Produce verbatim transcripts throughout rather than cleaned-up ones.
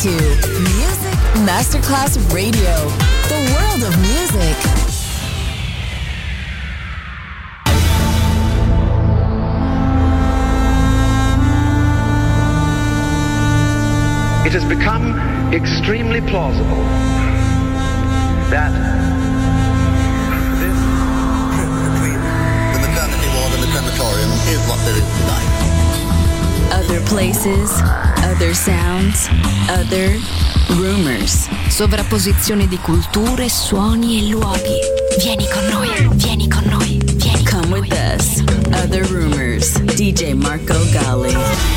to Music Masterclass Radio, the world of music. It has become extremely plausible that this between the maternity ward and the crematorium is what there is tonight. Other places, other sounds, other rumors. Sovrapposizione di culture, suoni e luoghi. Vieni con noi, vieni con noi, vieni con Come noi. with us. Other rumors. D J Marco Gally.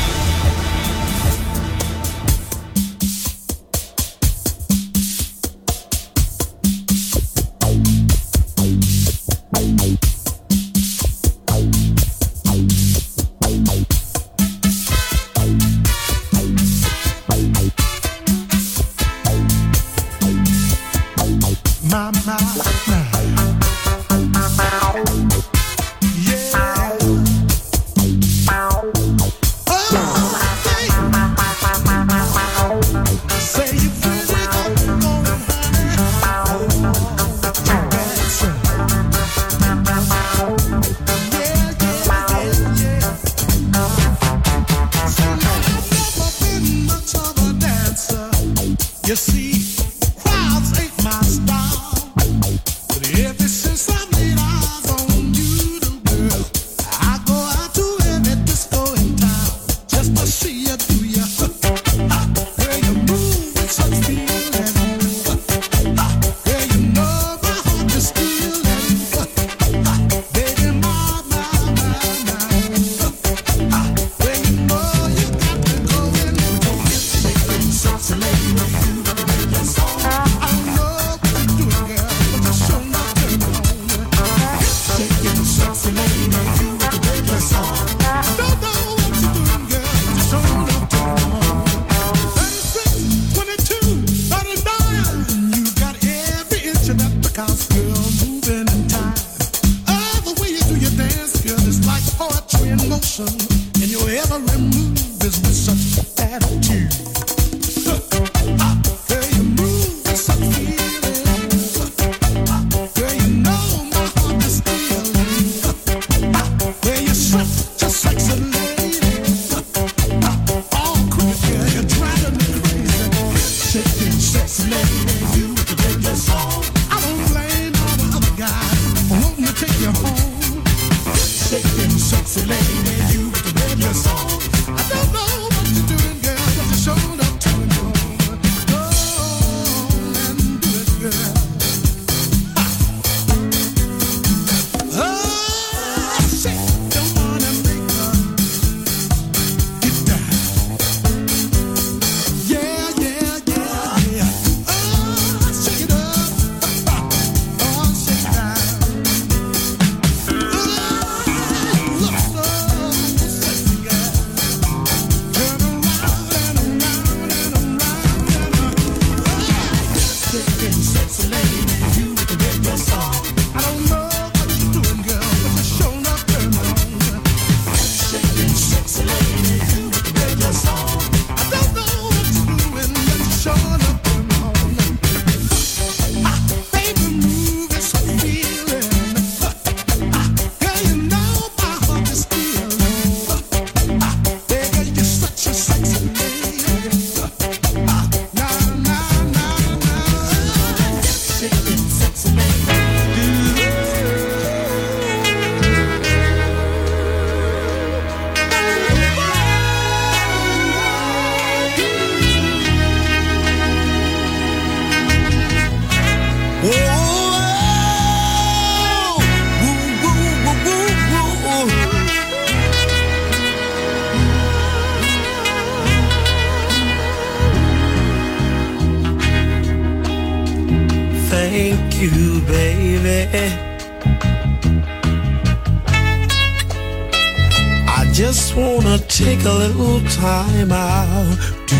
Just wanna take a little time out to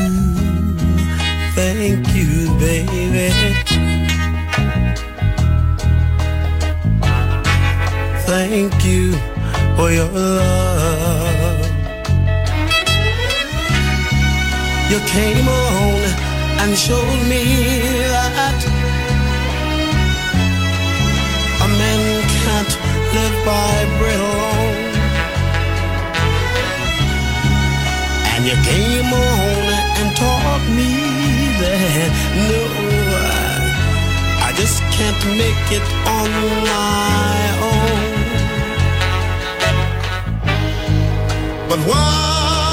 thank you, baby. Thank you for your love. You came along and showed me that a man can't live by bread alone. And you came on and taught me that no, I just can't make it on my own. But why?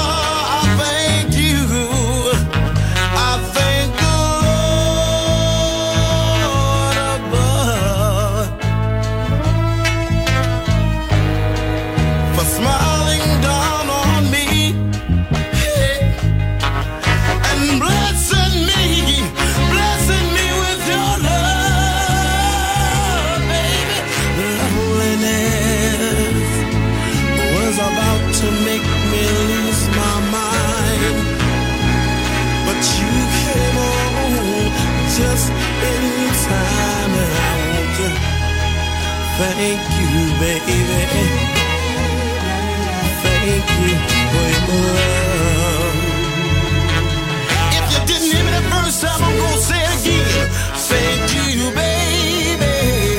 Thank you, baby. Thank you for your love. If you didn't hear me the first time, I'm gonna say it again. Thank you, baby.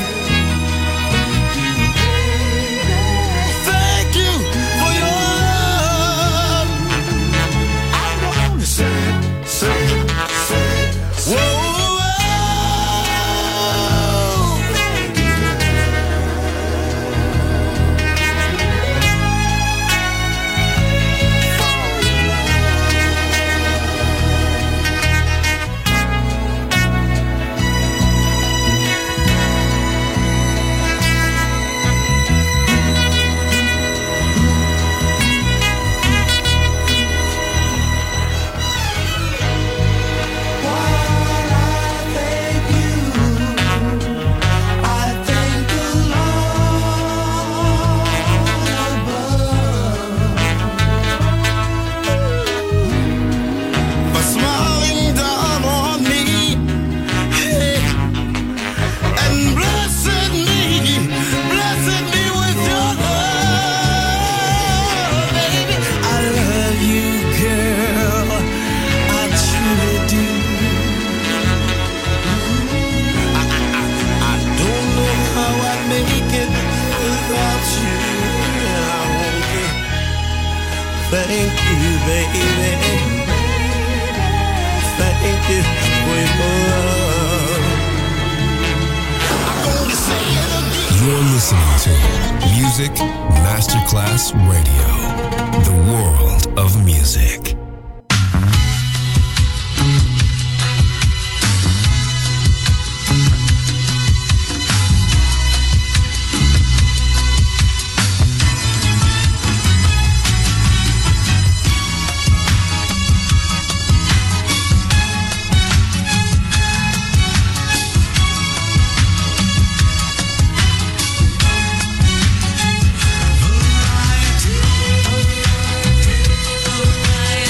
Thank you for your love. I want to say, say, say, whoa. Thank you, baby. Thank you for your love. I'm gonna say it again. You're listening to Music Masterclass Radio, the world of music. Variety, variety.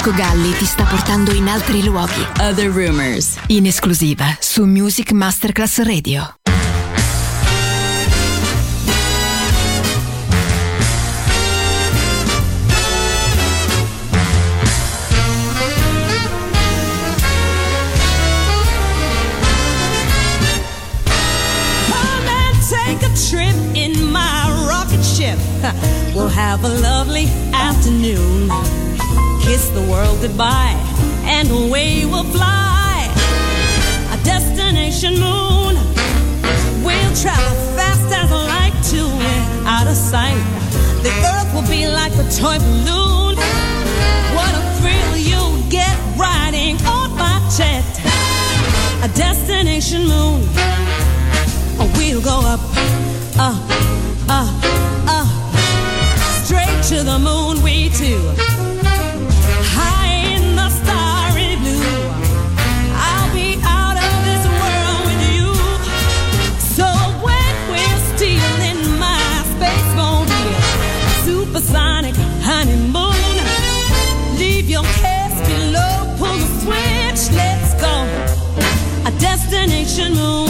Marco Galli ti sta portando in altri luoghi. Other Rumors. In esclusiva su Music Masterclass Radio. Take a trip in my rocket ship. We'll have a lovely afternoon. Kiss the world goodbye and away we'll fly. A destination moon. We'll travel fast as light to it, out of sight. The earth will be like a toy balloon. What a thrill you'll get riding on my jet. A destination moon. We'll go up, up, up, up, straight to the moon we two. High in the starry blue, I'll be out of this world with you. So when we're stealing my space mobile, supersonic honeymoon, leave your cares below, pull the switch, let's go. A destination moon.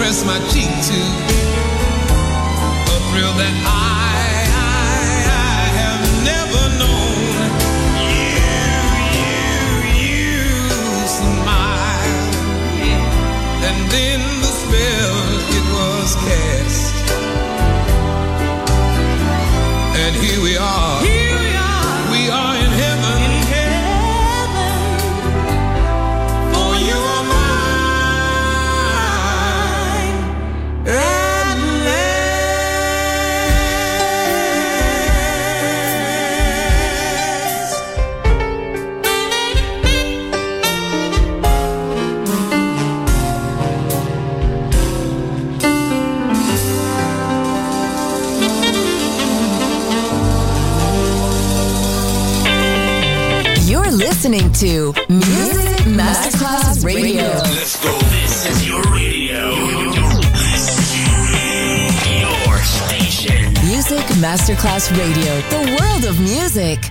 press my cheek to a thrill that I, I, I have never known. You, you, you smile, and then the spell it was cast, and here we are. Here we are. We are in heaven. In heaven. For you are mine. At last. You're listening to Music Masterclass Radio. Let's go. This is your radio. Your station. Music Masterclass Radio. The world of music.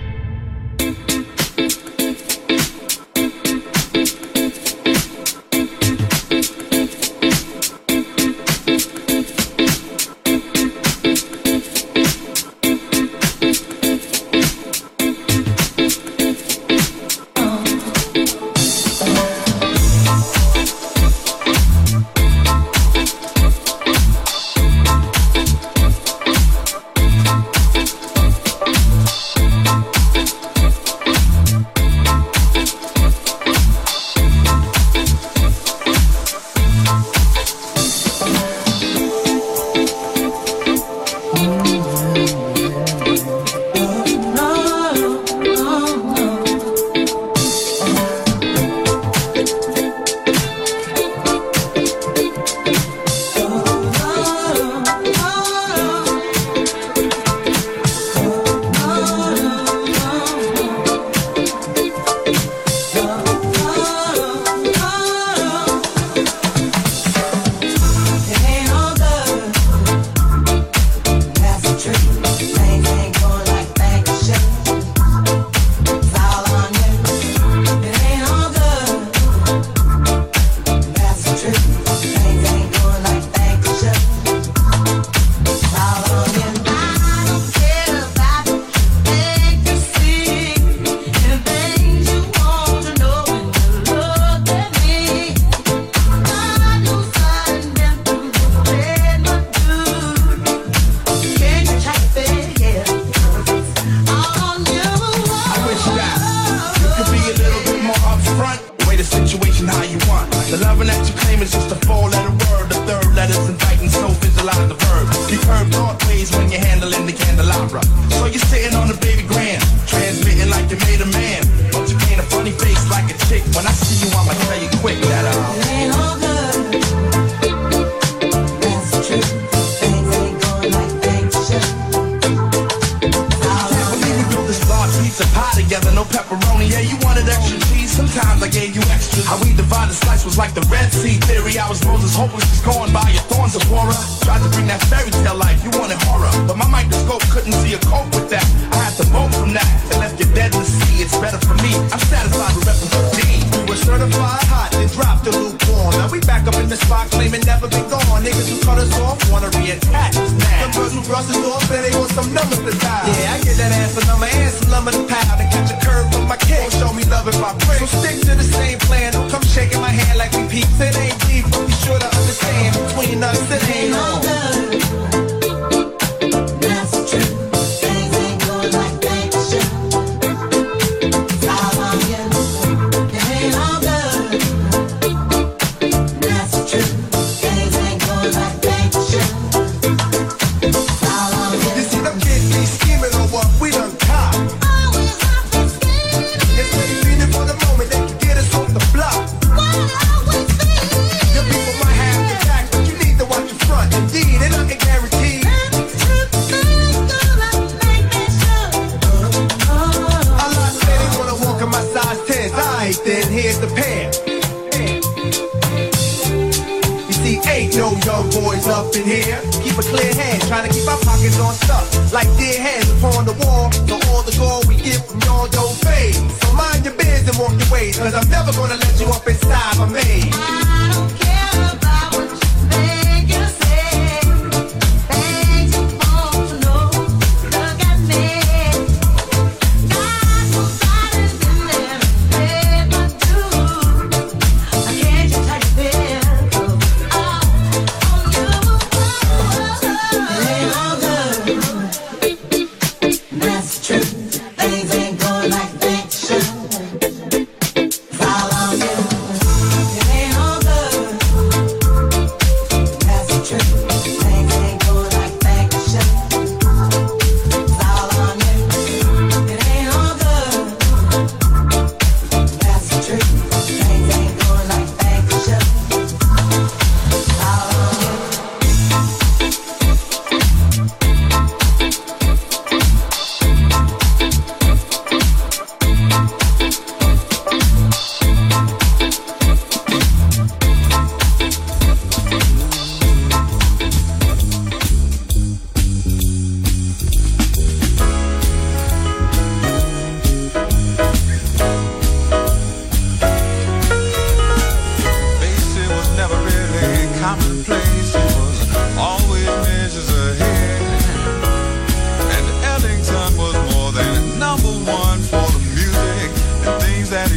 Cause I'm never gonna let you up inside my maze. I don't care about what you say.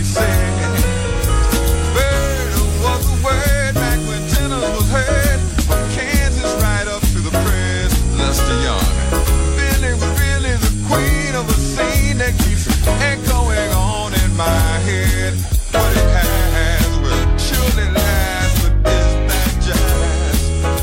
said. Bird was the word back when tenor was heard. From Kansas right up to the press, Lester Young. Billy was really the queen of a scene that keeps echoing on in my head. What it has will surely last, but is that jazz?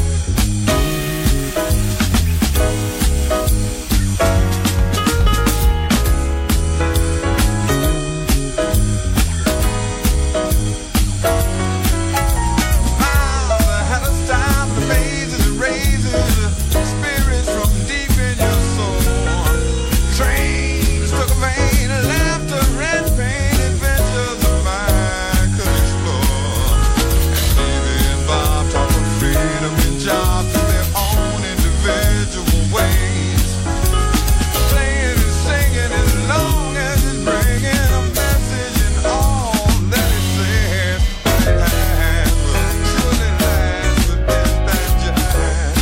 Miles ahead of style, the mazes and raises, spirits from deep in your soul. Trains took a vein of laughter and pain, adventures of mine could explore. And Stevie and Bob talk of freedom and jobs in their own individual ways. Playing and singing as long as it's bringing a message in all that it says. It has will surely last, but is that jazz?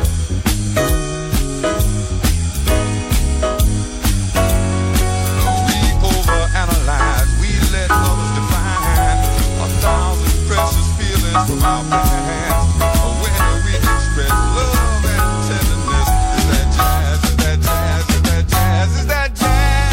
We overanalyze, we let others define a thousand precious feelings from our past. When we express love and tenderness, is that jazz? Is that jazz? Is that jazz? Is that jazz?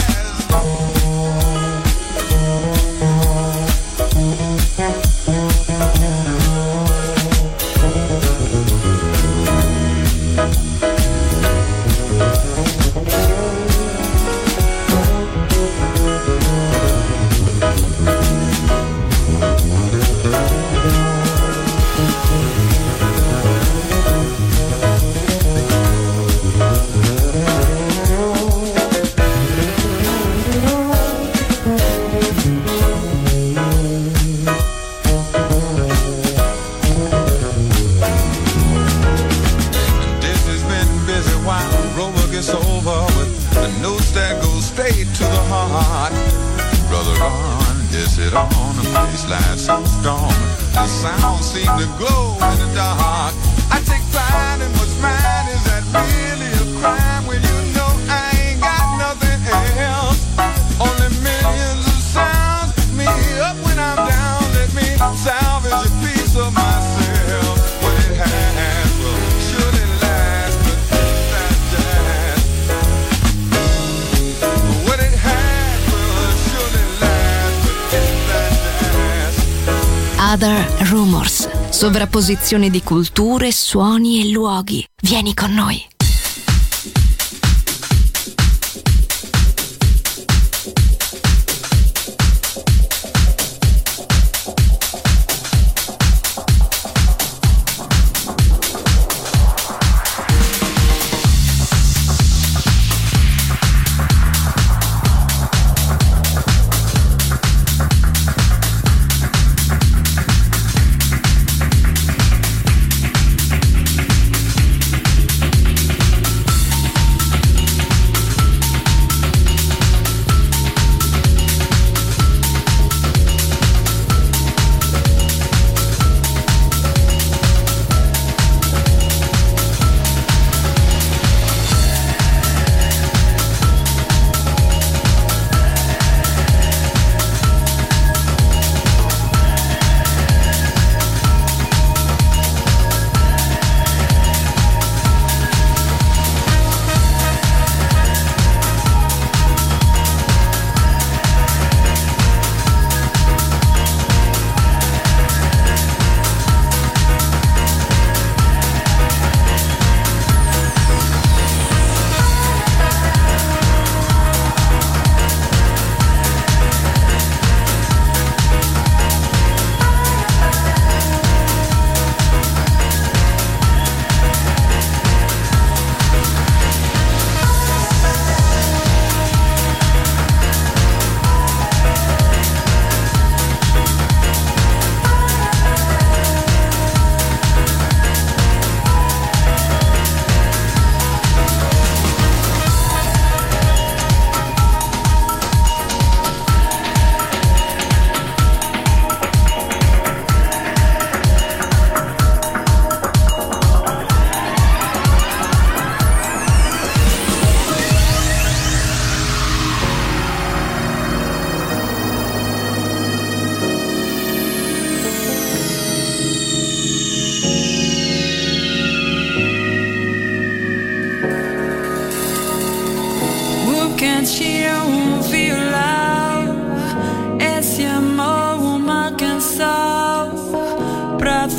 Disney's been busy while Rover gets over with the notes that go straight to the heart. Brother Ron gets it on the baseline so strong. The sound seems to glow in the dark. I take pride in what's mine. Is that really a crime when you know I ain't got nothing else? Only millions of sounds pick me up when I'm down. Let me salvage a piece of myself. What it has will surely last, but is that jazz? What it has will surely last, but is that jazz? Other Rumors. Sovrapposizione di culture, suoni e luoghi. Vieni con noi.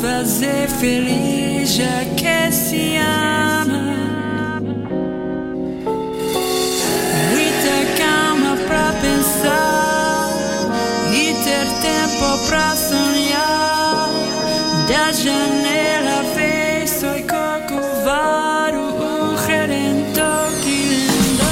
fazer feliz já que se ama. E ter calma pra pensar e ter tempo pra sonhar. Da janela vejo i Corcovado, o redentor que lindo.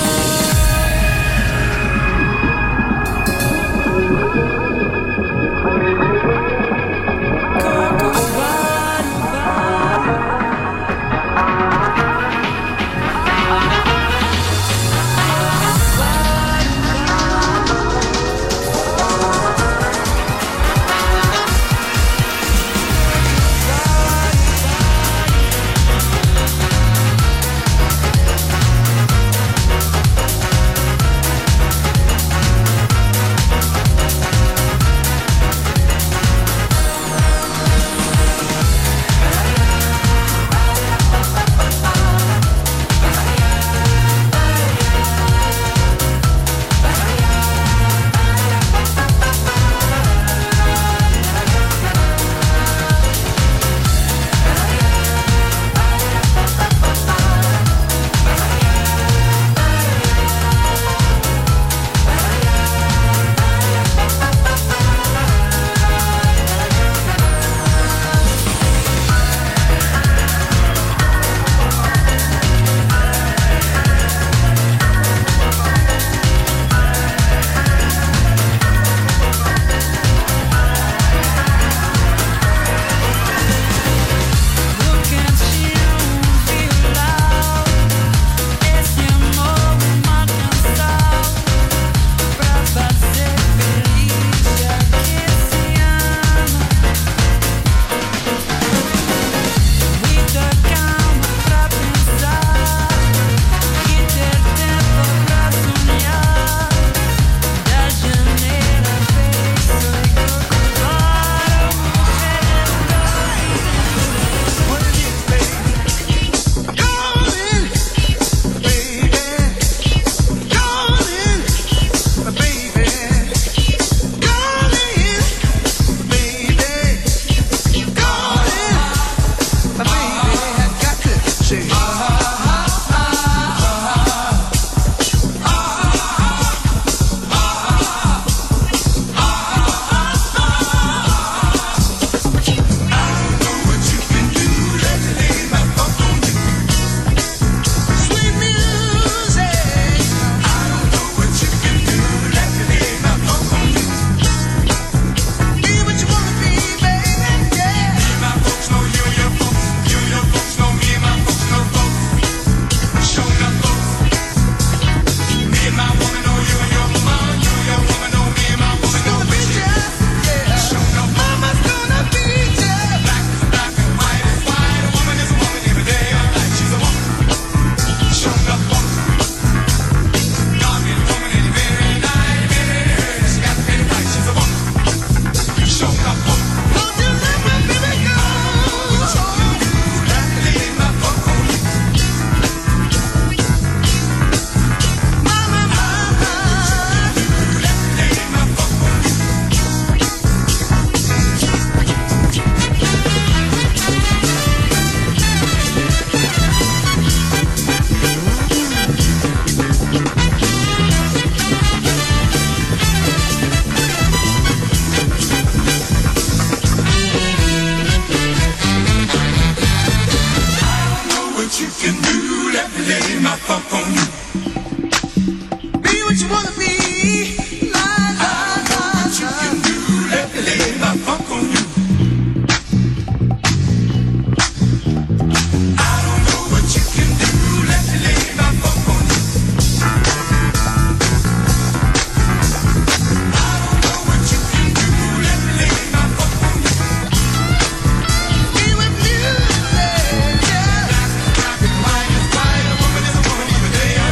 Day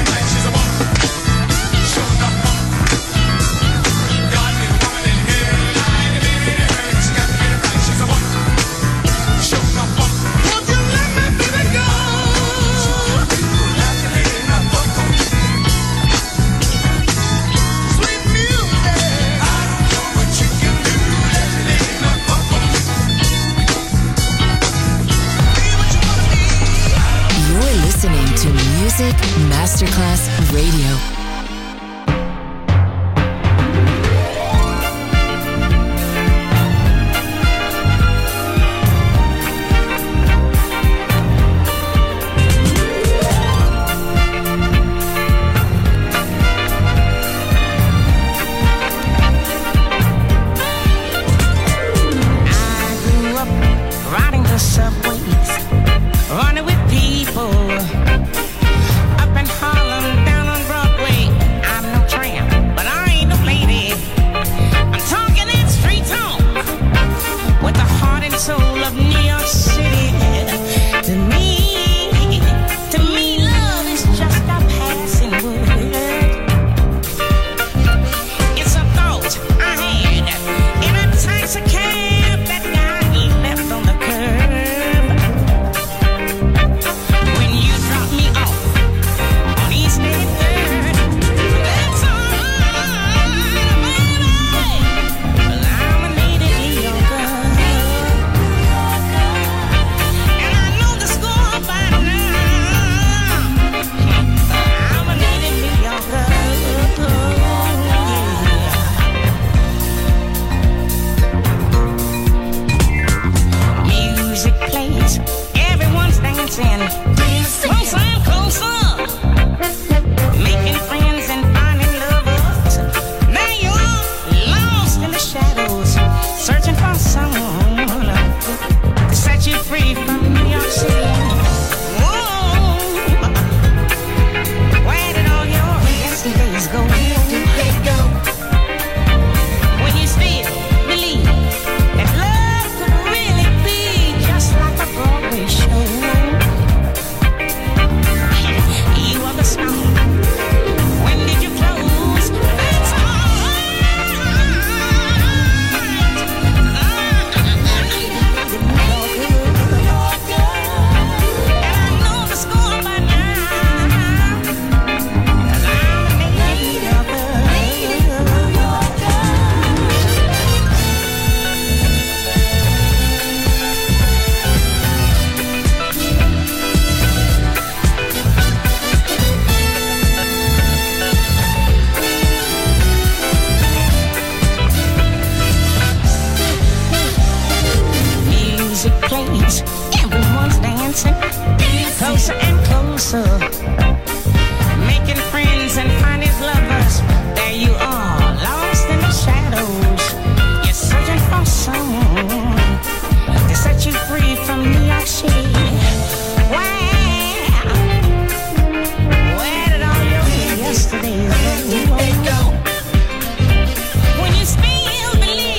Music Masterclass Radio.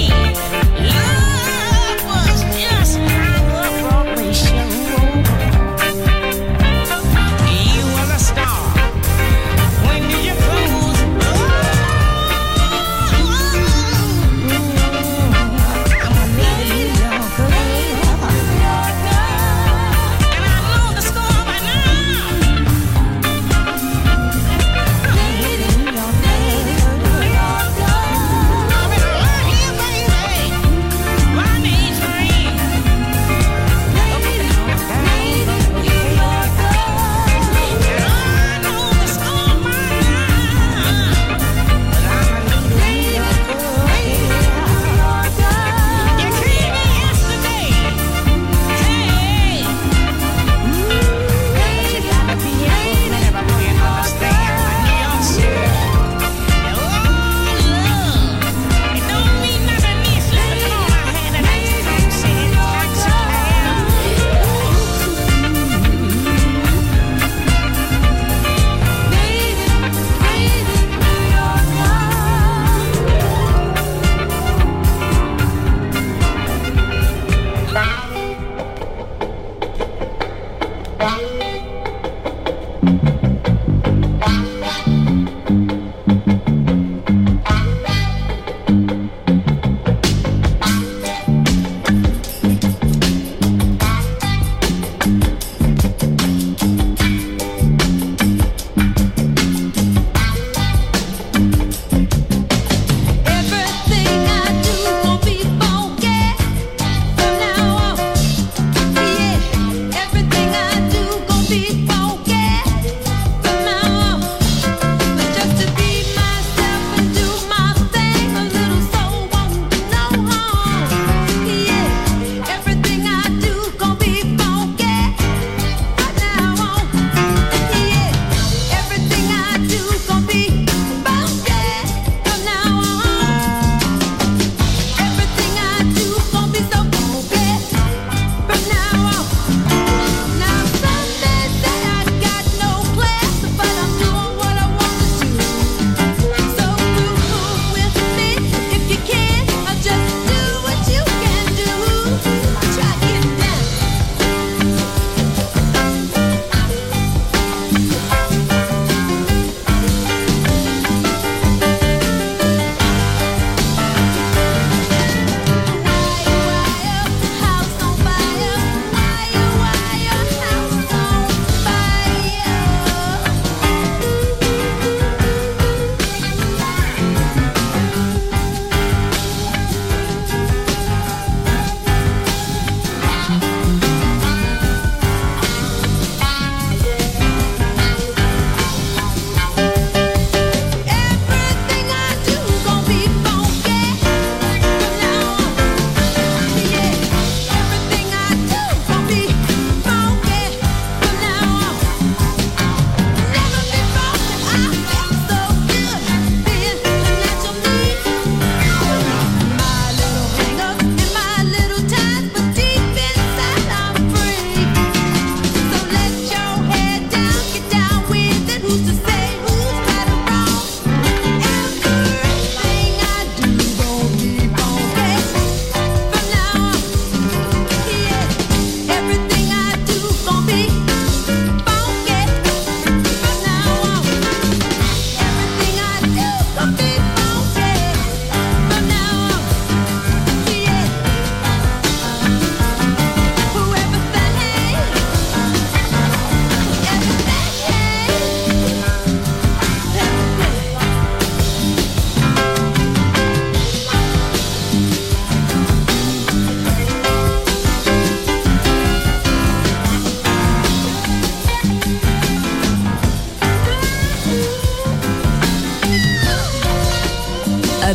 Love was just like a Broadway show.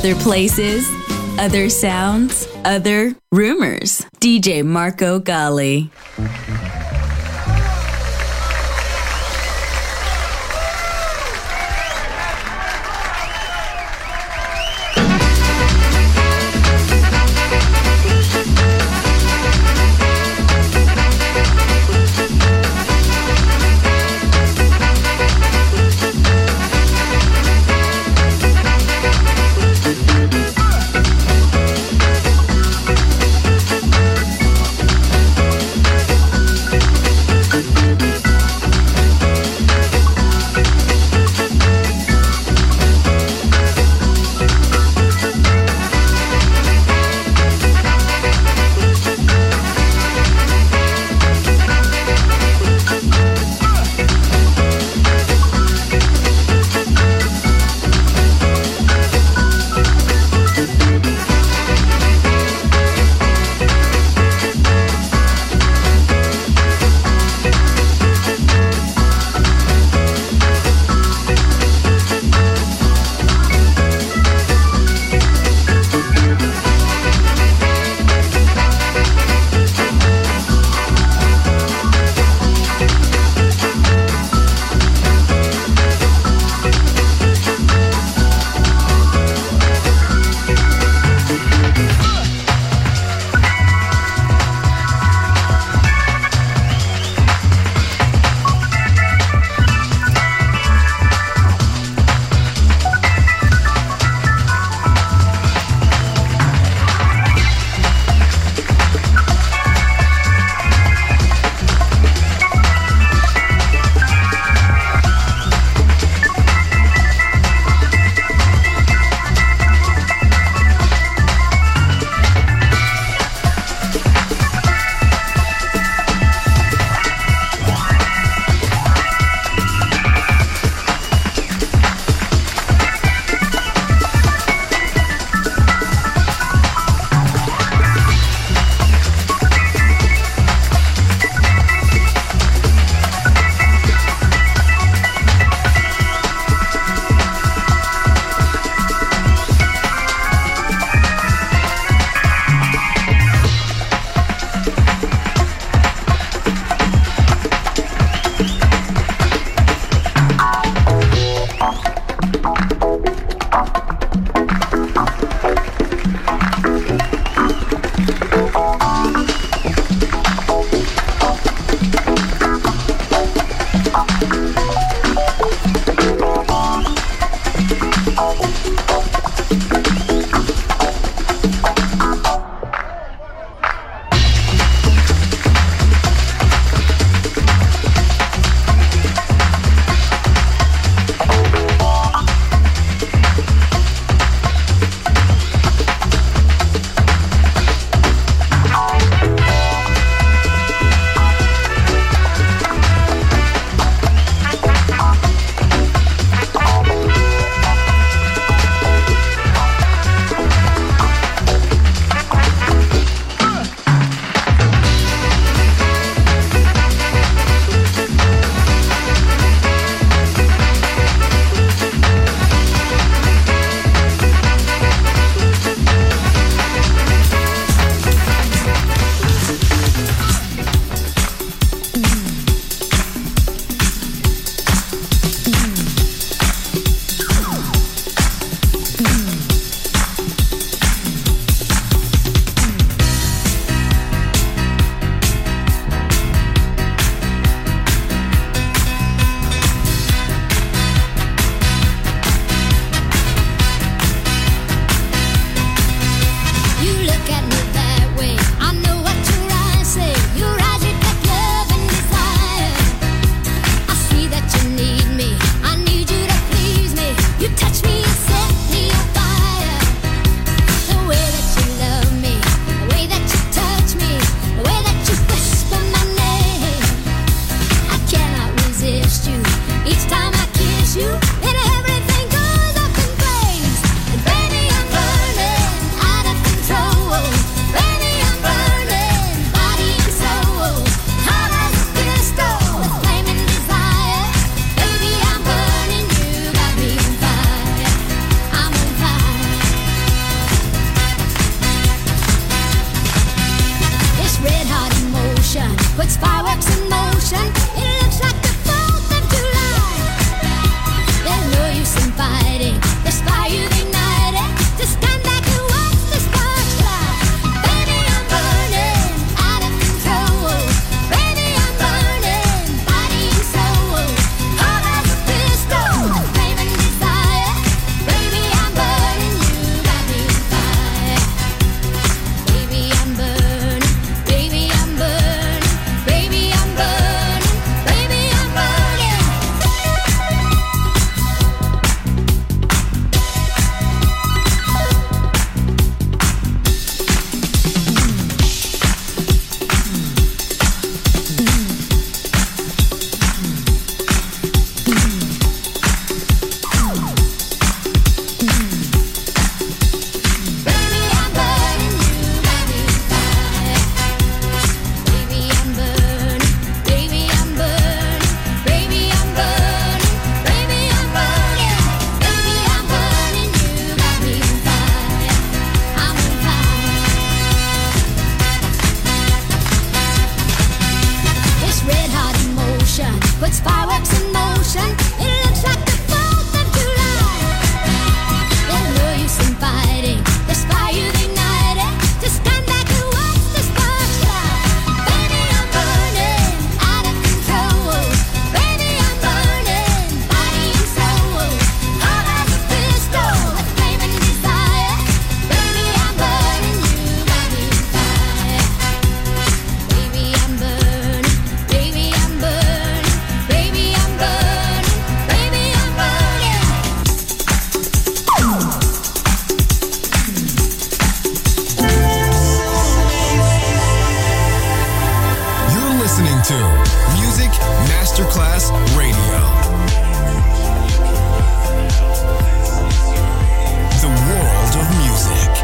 Other places, other sounds, other rumors. D J Marco Gally. to Music Masterclass Radio. The world of music.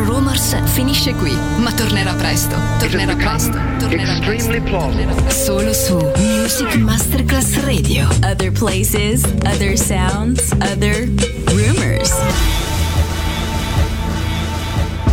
Rumors finisce qui, ma tornerà presto. Tornerà presto. Tornerà presto. Tornerà presto. Solo su Music Masterclass Radio. Other places, other sounds, other rumors.